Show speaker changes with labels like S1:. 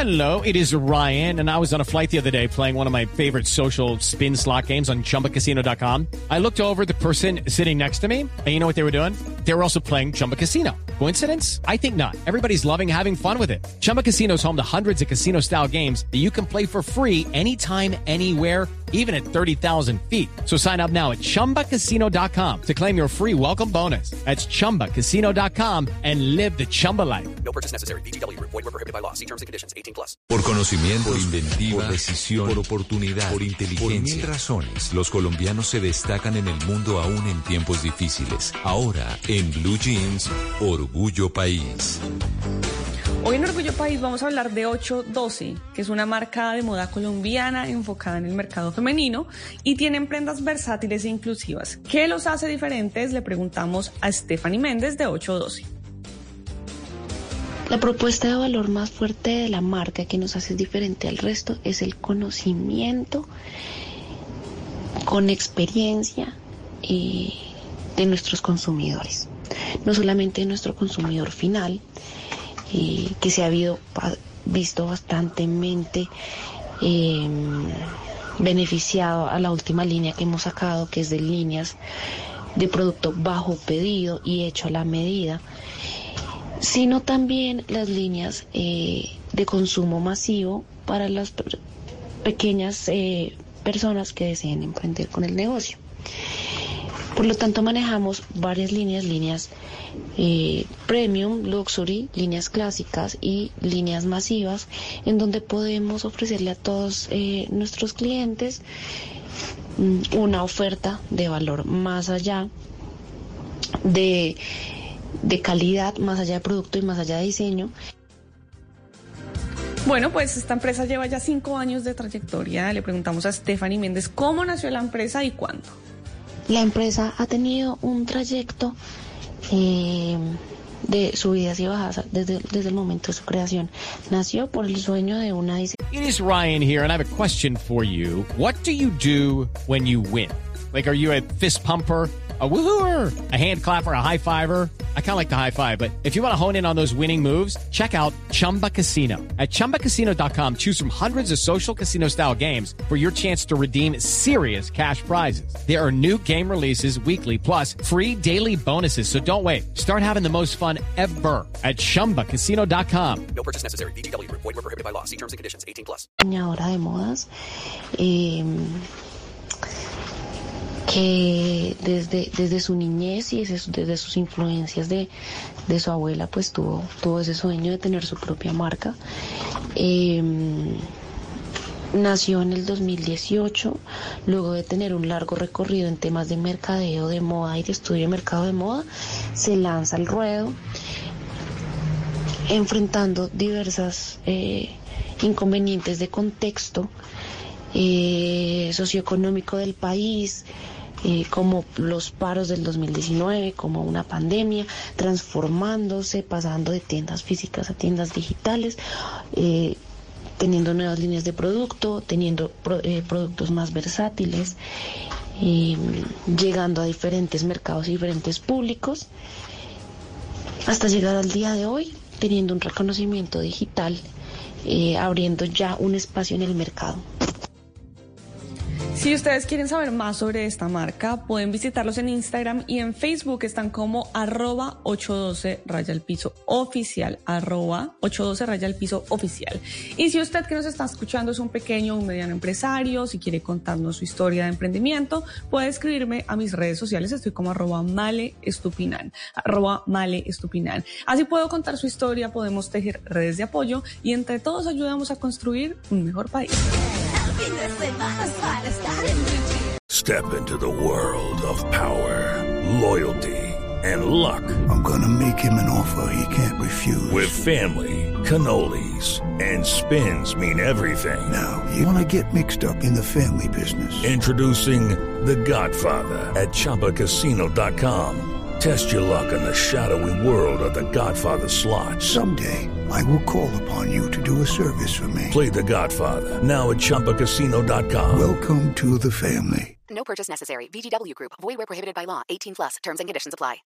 S1: Hello, it is Ryan, and I was on a flight the other day playing one of my favorite social spin slot games on ChumbaCasino.com. I looked over at the person sitting next to me, and you know what they were doing? They were also playing Chumba Casino. Coincidence? I think not. Everybody's loving having fun with it. Chumba Casino is home to hundreds of casino-style games that you can play for free anytime, anywhere, even at 30,000 feet. So sign up now at ChumbaCasino.com to claim your free welcome bonus. That's ChumbaCasino.com and live the Chumba life.
S2: No purchase necessary. VGW. Void were prohibited by law. See terms and conditions. 18+.
S3: Por conocimiento, por inventiva, por decisión, por oportunidad, por inteligencia. Por 1000 razones, los colombianos se destacan en el mundo aún en tiempos difíciles. Ahora, en Blue Jeans, Orgullo País.
S4: Hoy en Orgullo País vamos a hablar de 812, que es una marca de moda colombiana enfocada en el mercado femenino y tienen prendas versátiles e inclusivas. ¿Qué los hace diferentes? Le preguntamos a Stephanie Méndez de 812.
S5: La propuesta de valor más fuerte de la marca que nos hace diferente al resto es el conocimiento con experiencia de nuestros consumidores. No solamente de nuestro consumidor final, que se ha visto bastante beneficiado a la última línea que hemos sacado, que es de líneas de producto bajo pedido y hecho a la medida, sino también las líneas de consumo masivo para las pequeñas personas que deseen emprender con el negocio. Por lo tanto, manejamos varias líneas premium, luxury, líneas clásicas y líneas masivas, en donde podemos ofrecerle a todos nuestros clientes una oferta de valor más allá de calidad, más allá de producto y más allá de diseño.
S4: Bueno, pues esta empresa lleva ya 5 años de trayectoria. Le preguntamos a Stephanie Méndez cómo nació la empresa y cuándo.
S5: La empresa ha tenido un trayecto de subidas y bajadas desde el momento de su creación. Nació por el sueño de una diseñadora.
S1: It is Ryan here, and I have a question for you. What do you do when you win? Like, are you a fist pumper, a woohooer, a hand clapper, a high fiver? I kind of like the high five, but if you want to hone in on those winning moves, check out Chumba Casino. At ChumbaCasino.com, choose from hundreds of social casino-style games for your chance to redeem serious cash prizes. There are new game releases weekly, plus free daily bonuses, so don't wait. Start having the most fun ever at ChumbaCasino.com.
S2: No purchase necessary. VGW. Void were prohibited by law. See terms and conditions. 18+.
S5: Diseñadora de modas, que desde su niñez y desde sus influencias de su abuela, pues tuvo ese sueño de tener su propia marca. Nació en el 2018, luego de tener un largo recorrido en temas de mercadeo de moda y de estudio de mercado de moda, se lanza al ruedo, enfrentando diversas inconvenientes de contexto socioeconómico del país, como los paros del 2019, como una pandemia, transformándose, pasando de tiendas físicas a tiendas digitales, teniendo nuevas líneas de producto, teniendo productos más versátiles, llegando a diferentes mercados y diferentes públicos, hasta llegar al día de hoy, teniendo un reconocimiento digital, abriendo ya un espacio en el mercado.
S4: Si ustedes quieren saber más sobre esta marca, pueden visitarlos en Instagram y en Facebook. Están como @812_oficial, @812_oficial. Y si usted que nos está escuchando es un pequeño o un mediano empresario, si quiere contarnos su historia de emprendimiento, puede escribirme a mis redes sociales. Estoy como @maleestupinan. Así puedo contar su historia, podemos tejer redes de apoyo y entre todos ayudamos a construir un mejor país.
S6: Step into the world of power, loyalty, and luck.
S7: I'm gonna make him an offer he can't refuse.
S6: With family, cannolis, and spins mean everything.
S7: Now, you wanna get mixed up in the family business.
S6: Introducing The Godfather at ChumbaCasino.com. Test your luck in the shadowy world of The Godfather slot.
S7: Someday, I will call upon you to do a service for me.
S6: Play The Godfather, now at ChumbaCasino.com.
S7: Welcome to the family.
S2: No purchase necessary. VGW Group. Void where prohibited by law. 18+. Terms and conditions apply.